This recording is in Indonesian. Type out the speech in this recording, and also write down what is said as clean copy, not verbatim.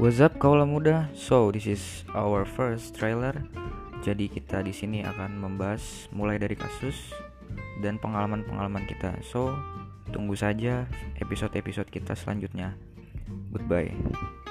What's up kaula muda? So this is our first trailer. Jadi kita di sini akan membahas mulai dari kasus dan pengalaman-pengalaman kita. So tunggu saja episode-episode kita selanjutnya. Goodbye.